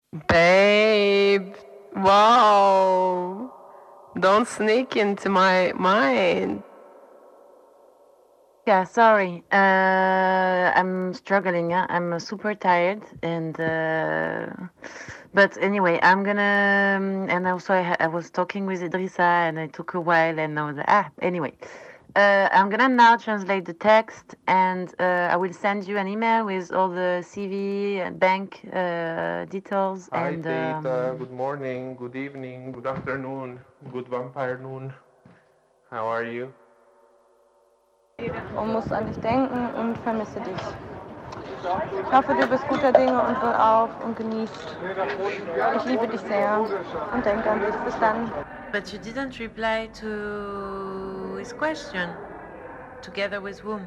Babe, wow. Don't sneak into my mind. Yeah, sorry. I'm struggling. Yeah? I'm super tired, and but anyway, I'm gonna. And also, I was talking with Idrissa, and it took a while, and I was anyway. I'm gonna now translate the text, and I will send you an email with all the CV and bank details. Hi, And Data. Good morning, good evening, good afternoon, good vampire noon. How are you? Und muss an dich denken und vermisse dich. Ich hoffe, du bist guter Dinge und wohlauf und genießt. Ich liebe dich sehr und denke an dich. Bis dann. But you didn't reply to his question. Together with whom?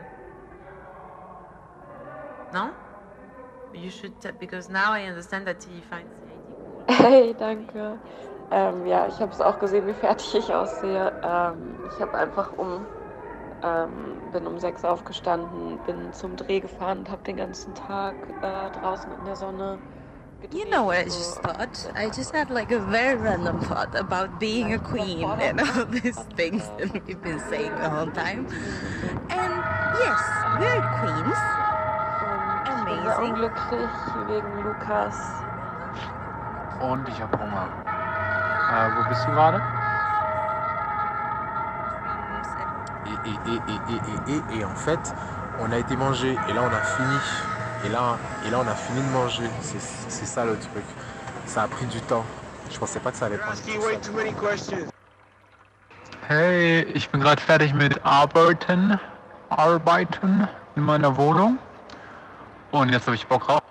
No? You should, because now I understand that he finds the idea. Hey, danke. Ja, ich habe es auch gesehen, wie fertig ich aussehe. Ich habe einfach bin um 6 aufgestanden, bin zum Dreh gefahren und habe den ganzen Tag draußen in der Sonne gedreht. You know what I just thought? I just had like a very random thought about being a queen and all these things that we've been saying the whole time. And yes, we're queens. Ich bin sehr unglücklich wegen Lukas. Und ich habe Hunger. Wo bist du gerade? Et en fait, on a été manger et là on a fini. Et là on a fini de manger. C'est ça le truc. Ça a pris du temps. Je pensais pas que ça allait prendre du temps. Hey, ich bin gerade fertig mit Arbeiten in meiner Wohnung. Und jetzt habe ich Bock drauf.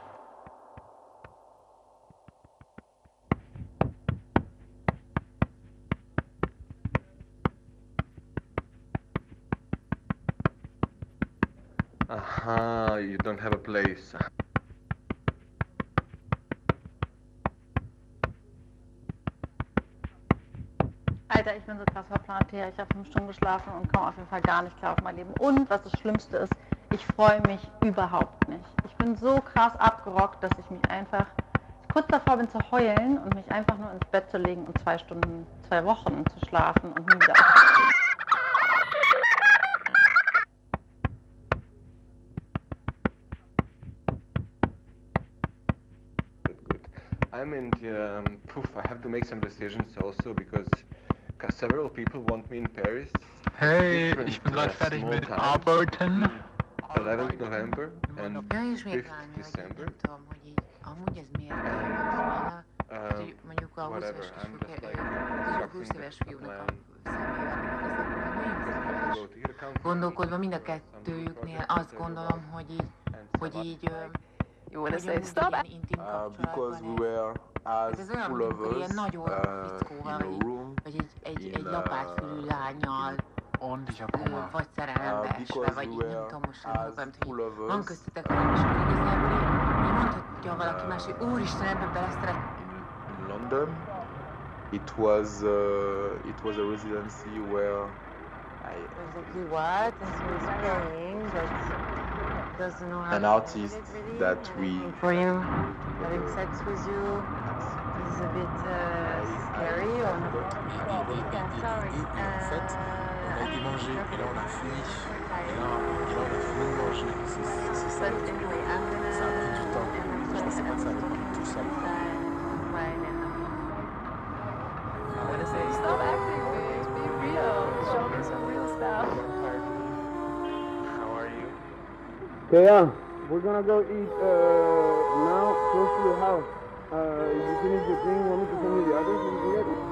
Aha, you don't have a place. Alter, ich bin so krass verplant hier. Ich habe 5 Stunden geschlafen und komme auf jeden Fall gar nicht klar auf mein Leben. Und was das Schlimmste ist, ich freue mich überhaupt nicht. Ich bin so krass abgerockt, dass ich mich einfach kurz davor bin zu heulen und mich einfach nur ins Bett zu legen und 2 Wochen zu schlafen und nie wieder aufzustehen. Good. I'm in the, I have to make some decisions also because several people want me in Paris. Hey, ich bin gerade fertig mit Arbeiten. 11th November and 5th December. Amúgy ez miért hogy mondjuk a 20 éves fiúnak a személyével gondolkodva mind a kettőjüknél azt gondolom, hogy így You wanna say stop? Because we were as full of us in a room vagy egy lapátfülű lányal Und ich habe Hunger. vagy szerelembeesve, vagy így nem tudom most sem, hogy van köztetek valami, és akkor igazából így mondhatja valaki más, hogy úristen, ebben beleszeret. In London, it was a residency where Exactly what? And so he's playing, but doesn't know how an artist that we for you, having sex with you is a bit scary or not? Et en fait, on a été manger et là on a fini. Et là on a fini de manger. C'est ça le truc. Ça a pris du temps. Je pensais pas que ça allait prendre tout ça. I wanna say stop acting, bitch. Be real. Show me some real stuff. How are you? Okay, yeah. We're gonna go eat now close to your house. You finish your thing, want me to send you the others when you get it?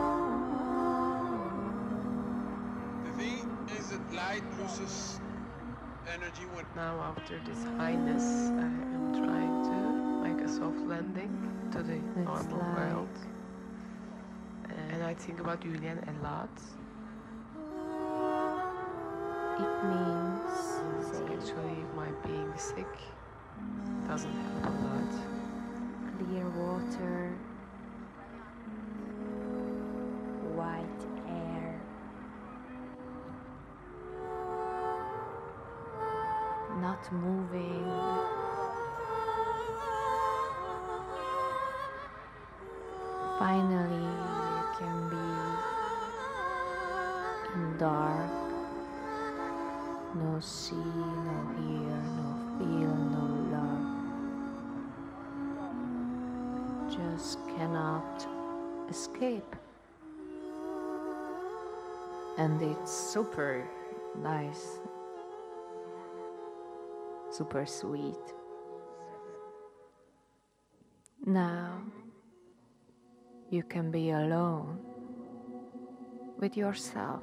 The thing is that light loses energy when... Now after this highness, I am trying to make a soft landing to the normal world. And I think about Julian a lot. It means Actually, my being sick doesn't help a lot. clear water, white air, not moving, Finally, you can be in dark, no see, no hear, no feel, no love. Just cannot escape. And it's super nice, super sweet. Now you can be alone with yourself.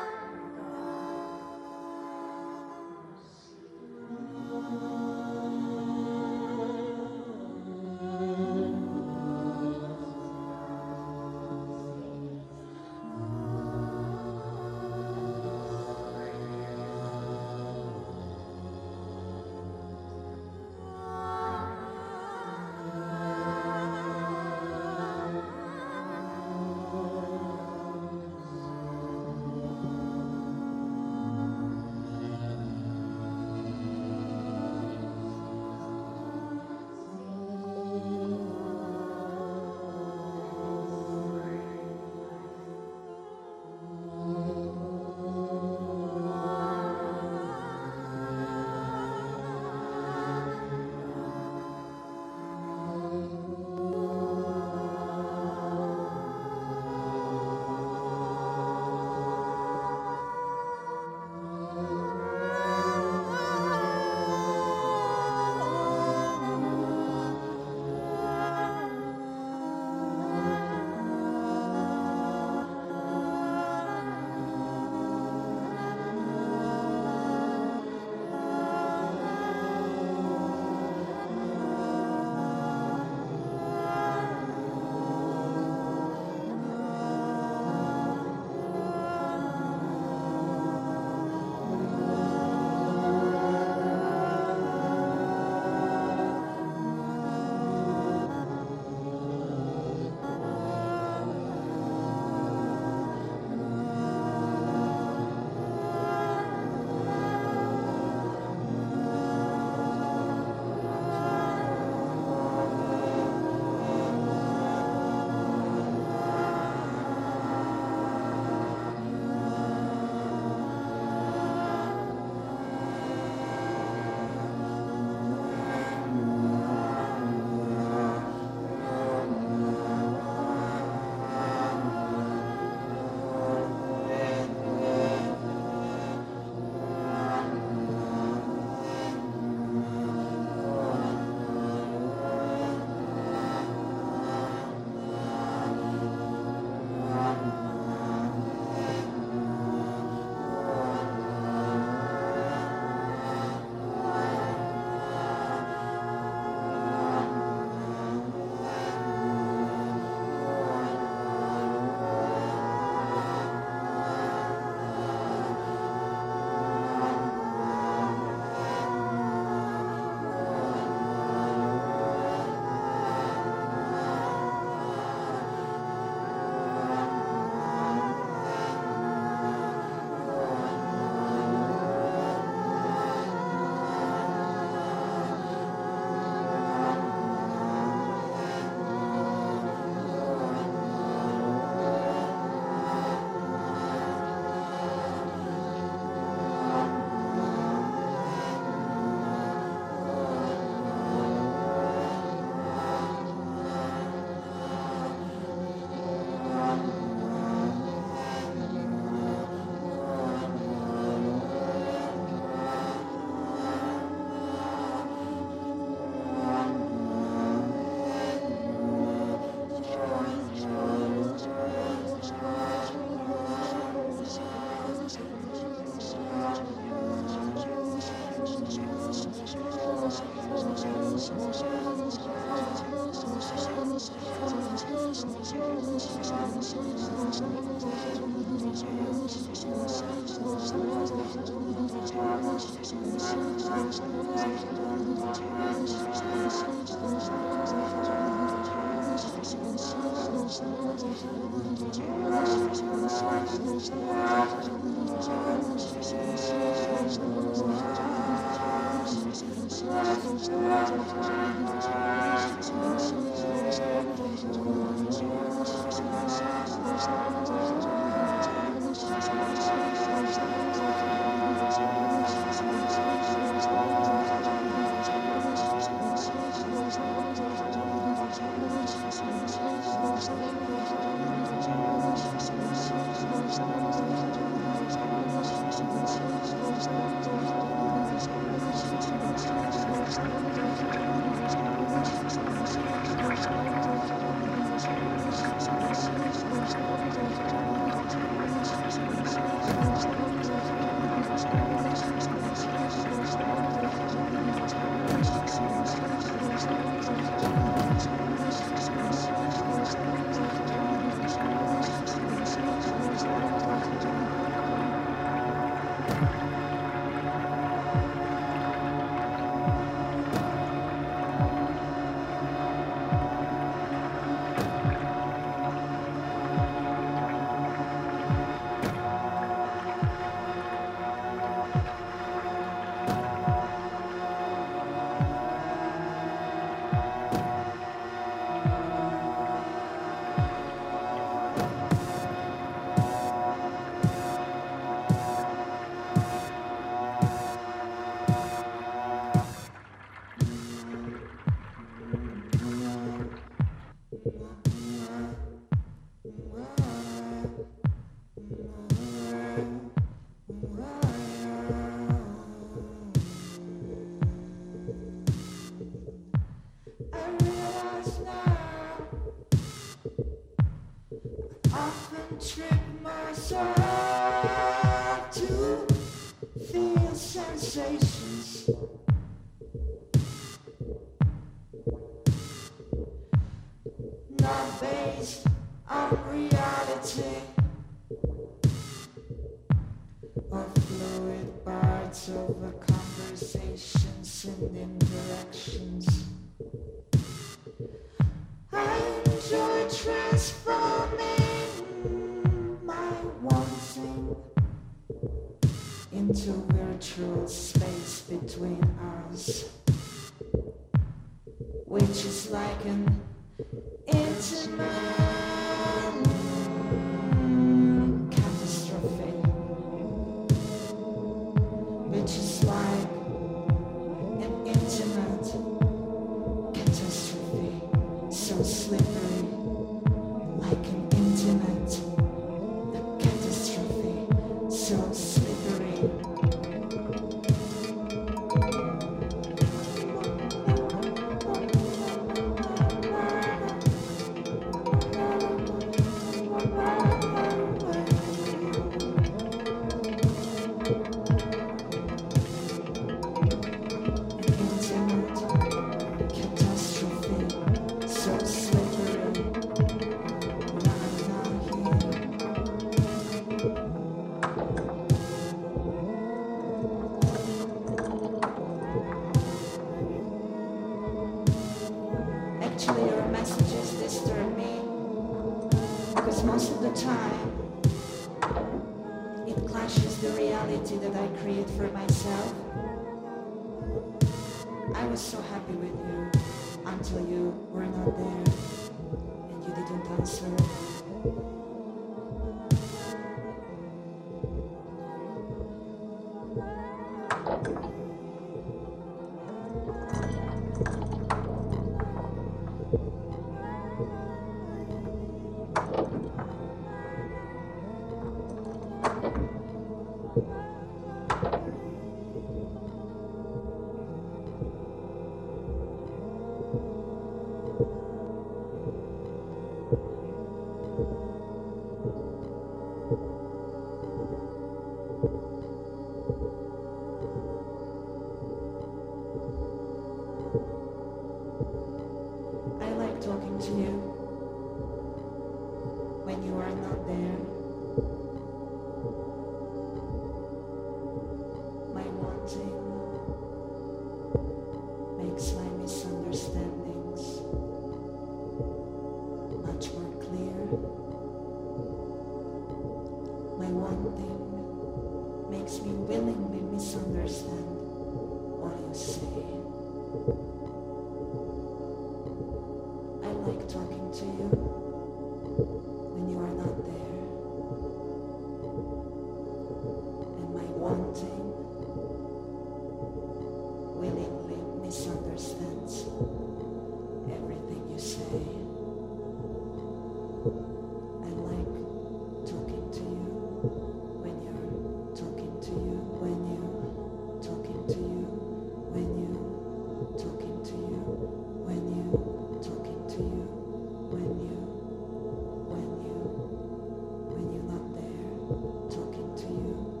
Talking to you.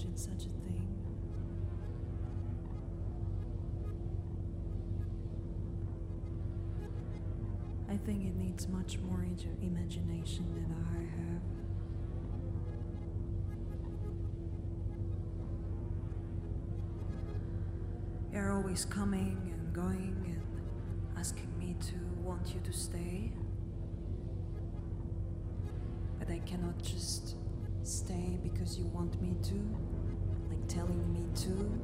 imagine such a thing. I think it needs much more imagination than I have. You're always coming and going and asking me to want you to stay. But I cannot just stay because you want me to, like telling me to.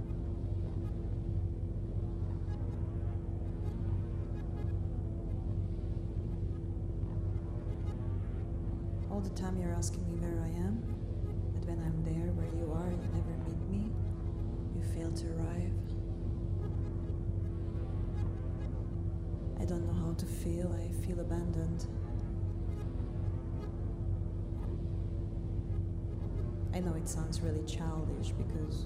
All the time you're asking me where I am, but when I'm there where you are, you never meet me. You fail to arrive. I don't know how to feel. I feel abandoned. I know it sounds really childish because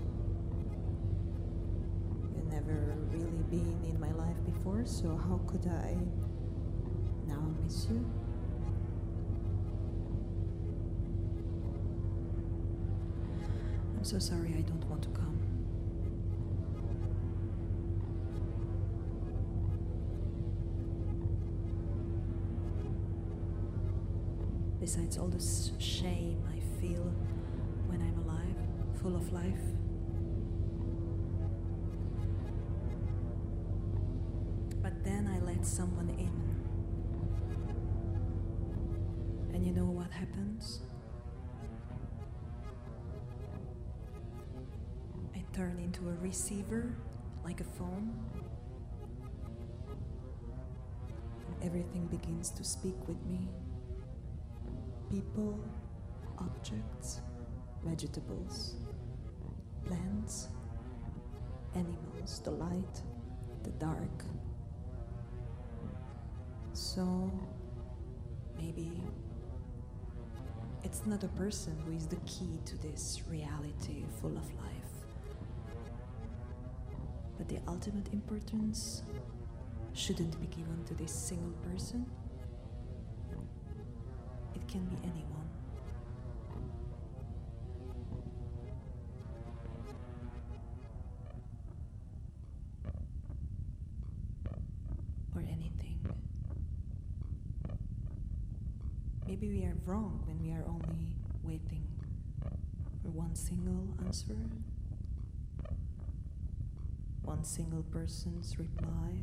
you've never really been in my life before, so how could I now miss you? I'm so sorry, I don't want to come. Besides all the shame I feel when I'm alive, full of life. But then I let someone in. And you know what happens? I turn into a receiver, like a phone. And everything begins to speak with me. People, objects, vegetables, plants, animals, the light, the dark. So maybe it's not a person who is the key to this reality full of life, but the ultimate importance shouldn't be given to this single person. It can be anyone. Or anything. Maybe we are wrong when we are only waiting for one single answer, one single person's reply,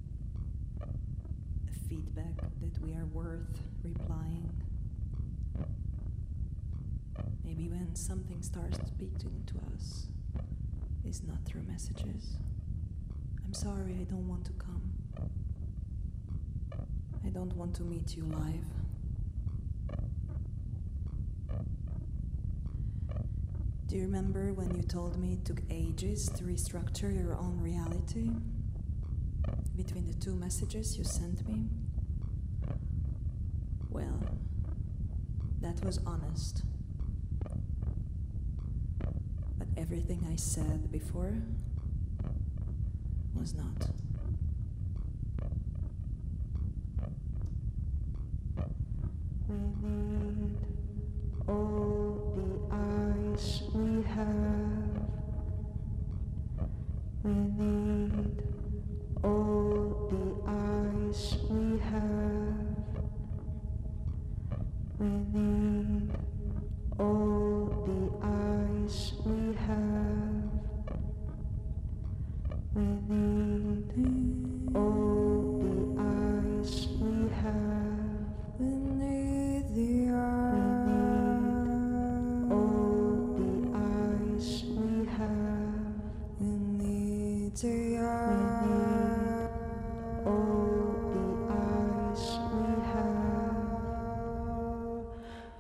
a feedback that we are worth replying. Maybe when something starts speaking to us, it's not through messages. I'm sorry, I don't want to come. I don't want to meet you live. Do you remember when you told me it took ages to restructure your own reality between the two messages you sent me? Well, that was honest. But everything I said before was not. We need all the eyes we have. We need all the eyes we have. We need all the eyes we have. We need all the eyes we have. We need the eyes. All the eyes we have. We need the eyes. All the eyes we have.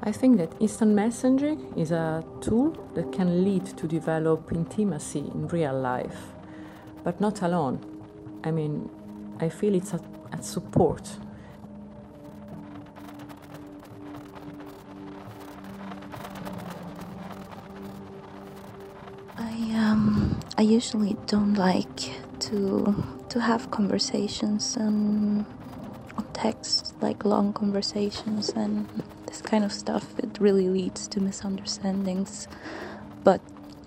I think that instant messaging is a tool that can lead to develop intimacy in real life, but not alone. I mean, I feel it's a support. I usually don't like to have conversations on text, like long conversations and this kind of stuff. It really leads to misunderstandings. But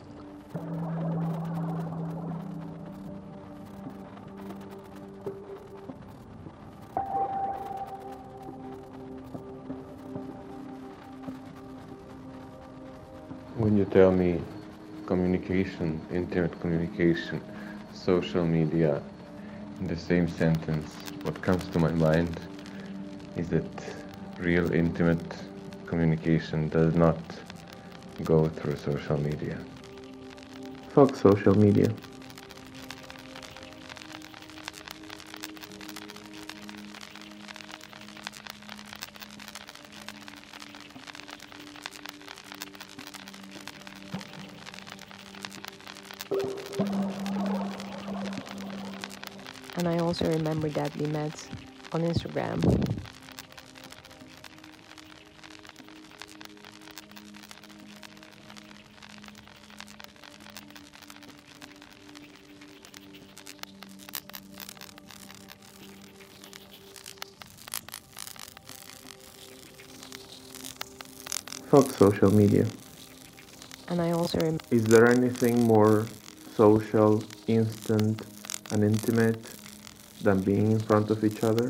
when you tell me communication, intimate communication, social media, in the same sentence, what comes to my mind is that real intimate communication does not go through social media. Fuck social media. And I also remember that we met on Instagram. Fuck social media. And I also Is there anything more social, instant, and intimate than being in front of each other?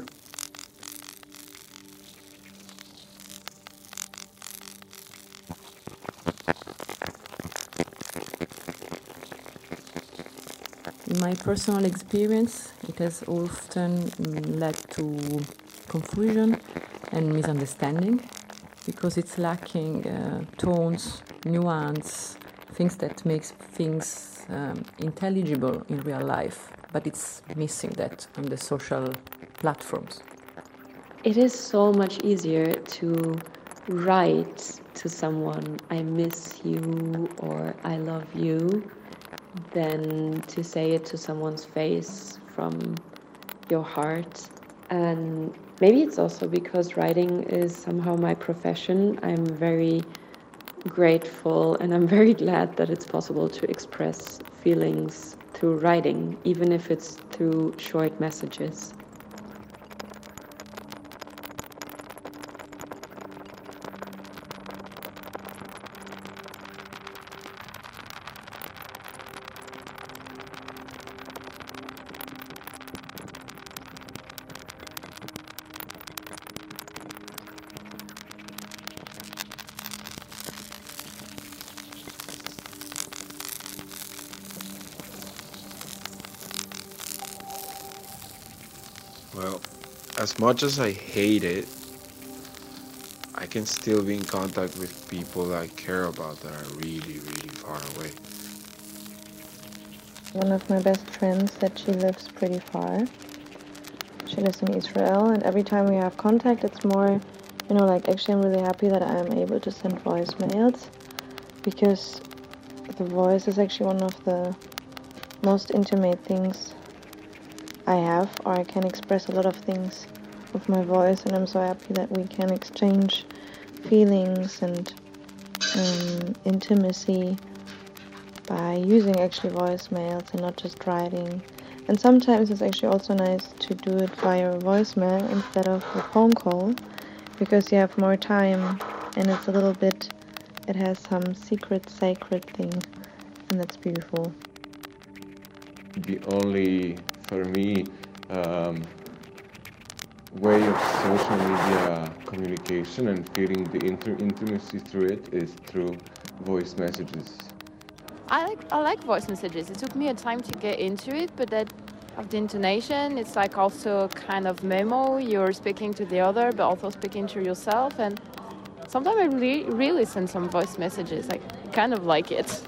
In my personal experience, it has often led to confusion and misunderstanding because it's lacking tones, nuance, things that makes things intelligible in real life, but it's missing that on the social platforms. It is so much easier to write to someone, I miss you or I love you, than to say it to someone's face from your heart. And maybe it's also because writing is somehow my profession. I'm very grateful and I'm very glad that it's possible to express feelings through writing, even if it's through short messages. Well, as much as I hate it, I can still be in contact with people I care about that are really, really far away. One of my best friends said she lives pretty far. She lives in Israel, and every time we have contact, it's more, like actually I'm really happy that I'm able to send voicemails, because the voice is actually one of the most intimate things I have, or I can express a lot of things with my voice, and I'm so happy that we can exchange feelings and intimacy by using actually voicemails and not just writing. And sometimes it's actually also nice to do it via voicemail instead of a phone call, because you have more time and it's a little bit, it has some secret, sacred thing, and that's beautiful. The only, for me, way of social media communication and feeling the intimacy through it is through voice messages. I like voice messages. It took me a time to get into it, but that of the intonation, it's like also kind of memo. You're speaking to the other, but also speaking to yourself. And sometimes I really send some voice messages. I kind of like it.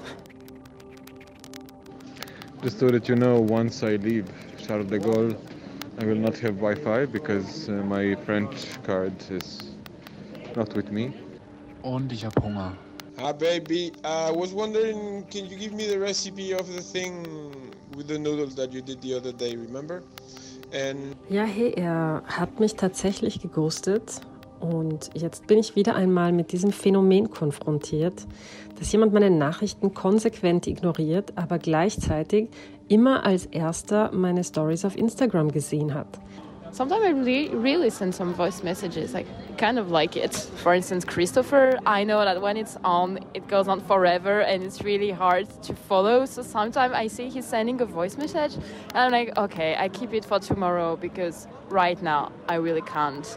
Just so that you know, once I leave Charles de Gaulle, I will not have Wi-Fi because my French card is not with me. Und ich habe Hunger. Hi, baby. I was wondering, can you give me the recipe of the thing with the noodles that you did the other day, remember? And Ja, hey, er hat mich tatsächlich geghostet und jetzt bin ich wieder einmal mit diesem Phänomen konfrontiert, dass jemand meine Nachrichten konsequent ignoriert, aber gleichzeitig immer als erster meine Stories auf Instagram gesehen hat. Sometimes I really send some voice messages. I kind of like it. For instance, Christopher, I know that when it's on, it goes on forever and it's really hard to follow. So sometimes I see he's sending a voice message and I'm like, okay, I keep it for tomorrow because right now I really can't.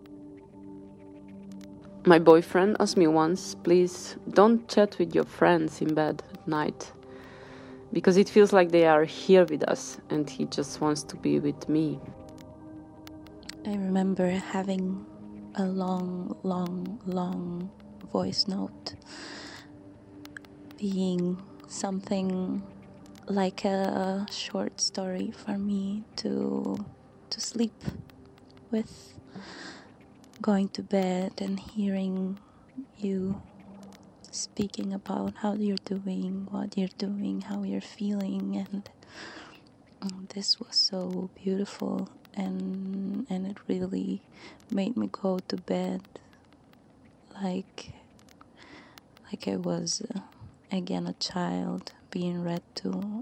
My boyfriend asked me once, please don't chat with your friends in bed at night. Because it feels like they are here with us and he just wants to be with me. I remember having a long voice note being something like a short story for me to sleep with, going to bed and hearing you speaking about how you're doing, what you're doing, how you're feeling, and this was so beautiful. And it really made me go to bed like I was again a child being read to.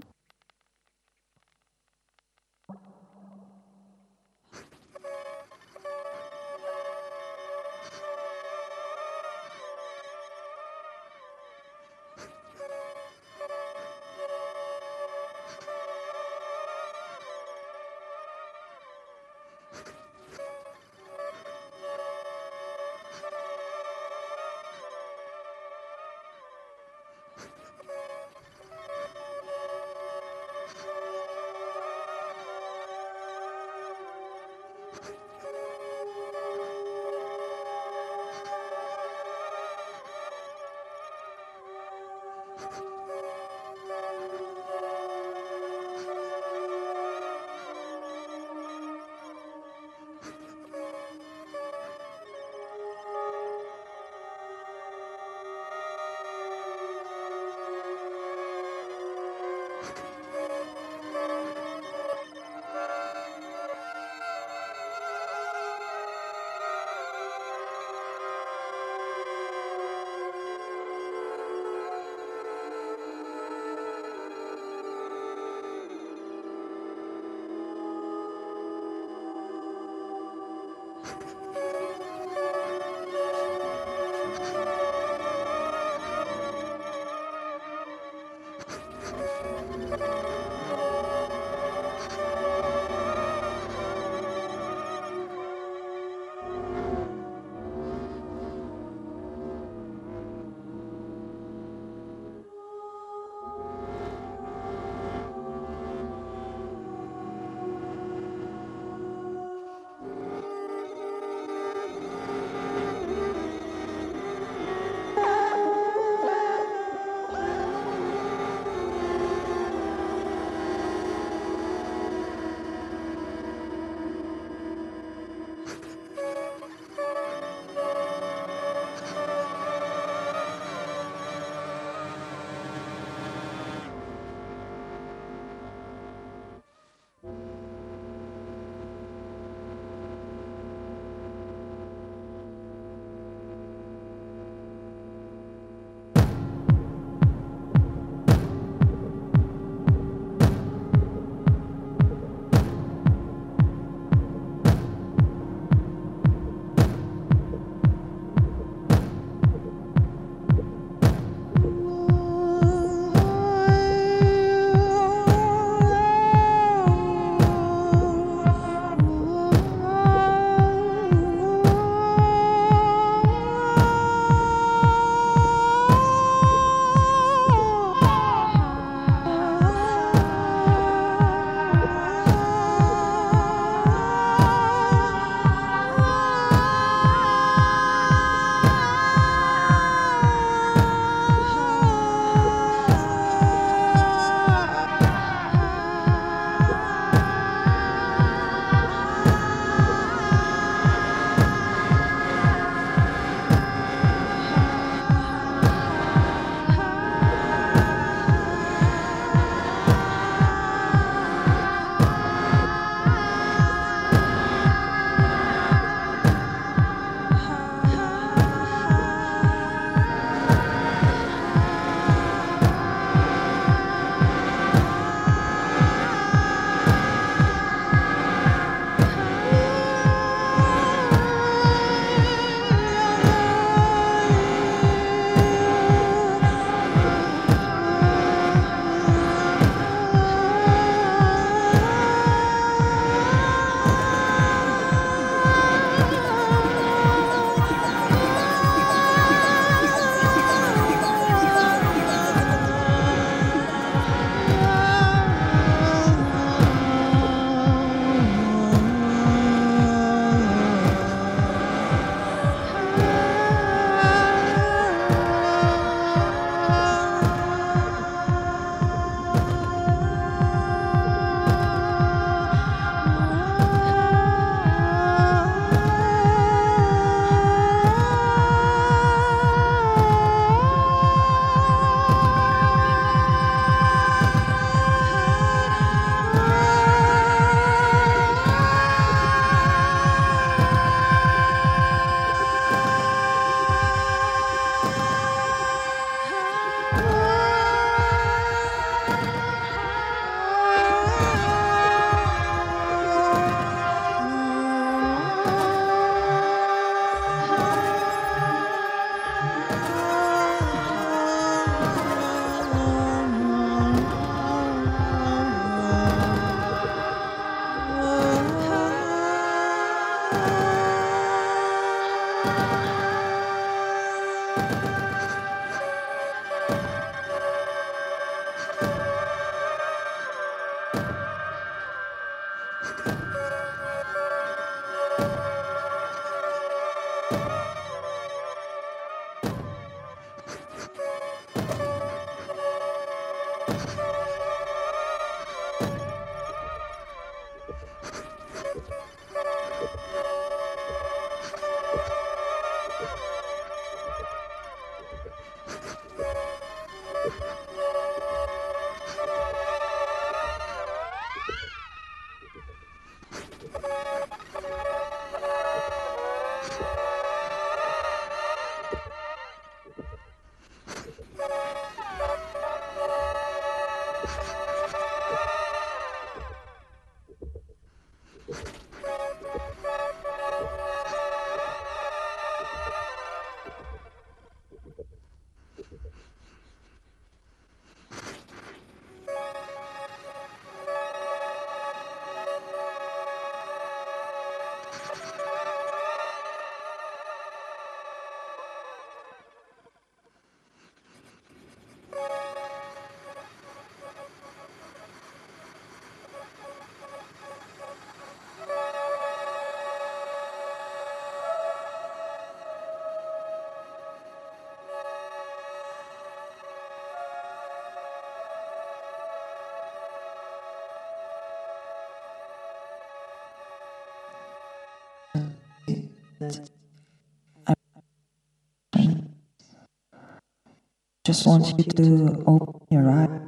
Just want you to open your eyes.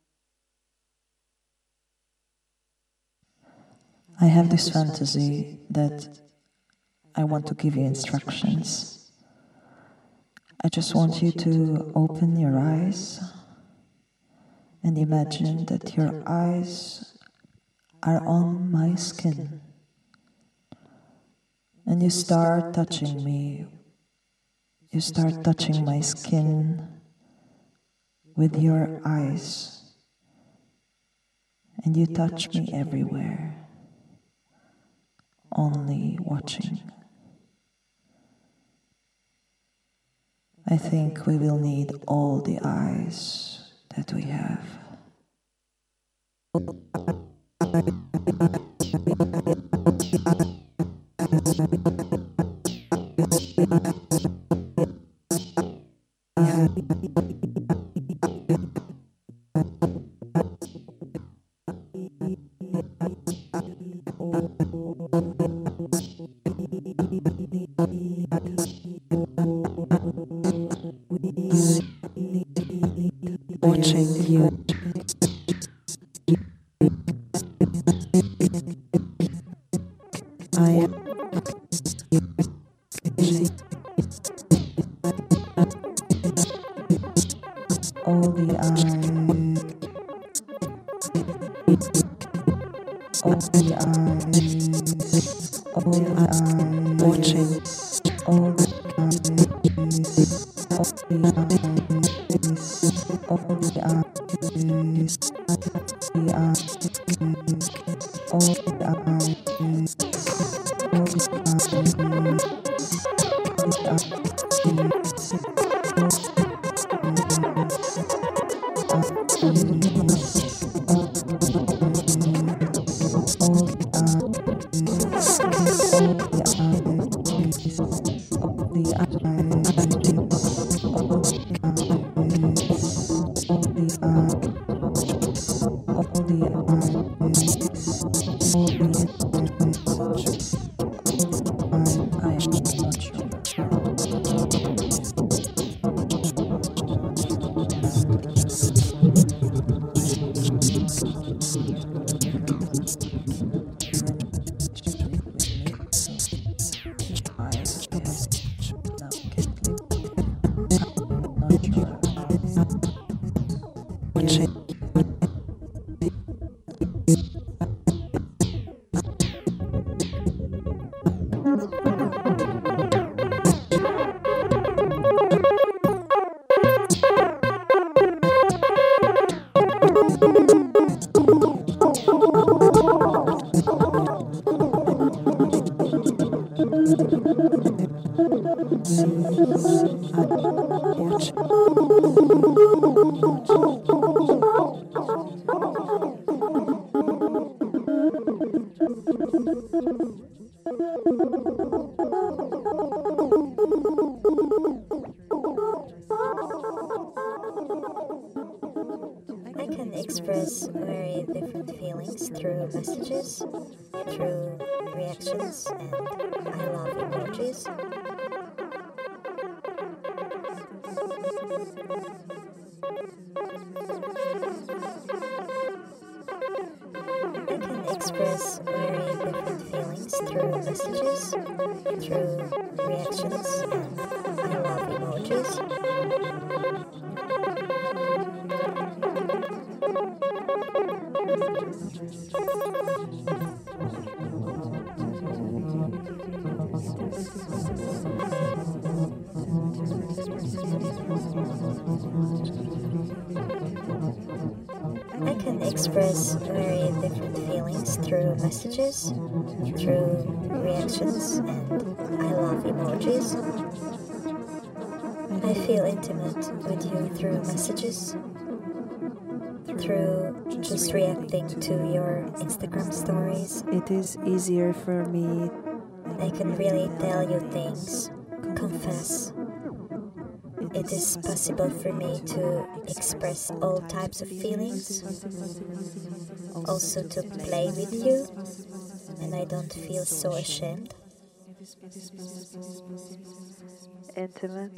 I have this fantasy that I want to give you instructions. I just want you to open your eyes and imagine that your eyes are on my skin. And you start touching me. You start touching my skin with your eyes. And you touch me everywhere, only watching. I think we will need all the eyes that we have. Watching you. I am all the eyes, all the eyes, all the eyes, watching all the eyes, all the eyes, all the eyes, the eyes, all the eyes, all I can express very different feelings through messages, through reactions and I love emojis. I can express very different feelings through messages, through reactions, and I love emojis. I can express very different feelings through messages, through reactions, and I love emojis. I feel intimate with you through messages, through just reacting to your Instagram stories. It is easier for me. I can really tell you things, confess. It is possible for me to express all types of feelings, also to play with you, and I don't feel so ashamed. Intimate,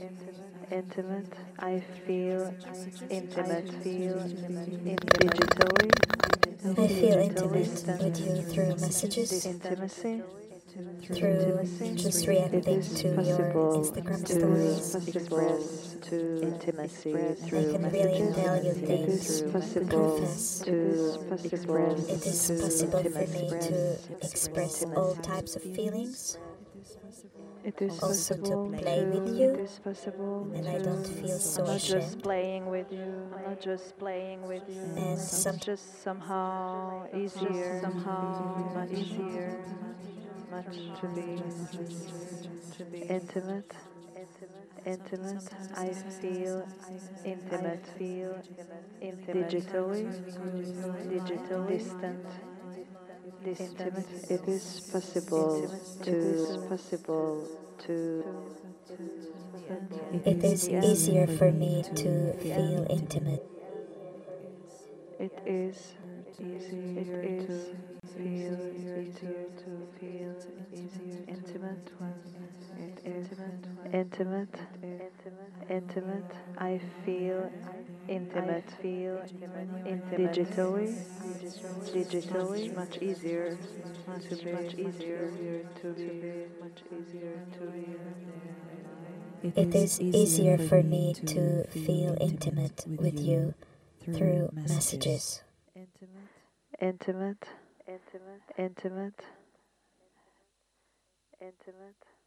I feel intimate, digitally. I feel intimate with you through messages, intimacy, through just reacting to your Instagram stories. Express to intimacy through I can really tell you things, confess. It is possible for me to express all types of feelings, also to play with you, and I don't feel so ashamed. I'm not just playing with you. And just somehow easier, much easier, much to be intimate. I feel intimate, digitally, distant, intimate. It is possible to. It is easier for me to feel intimate. It is easier to feel intimate. Intimate. I feel intimate. Digitally, much easier to be. It is easier for me to feel intimate with you through messages. Intimate.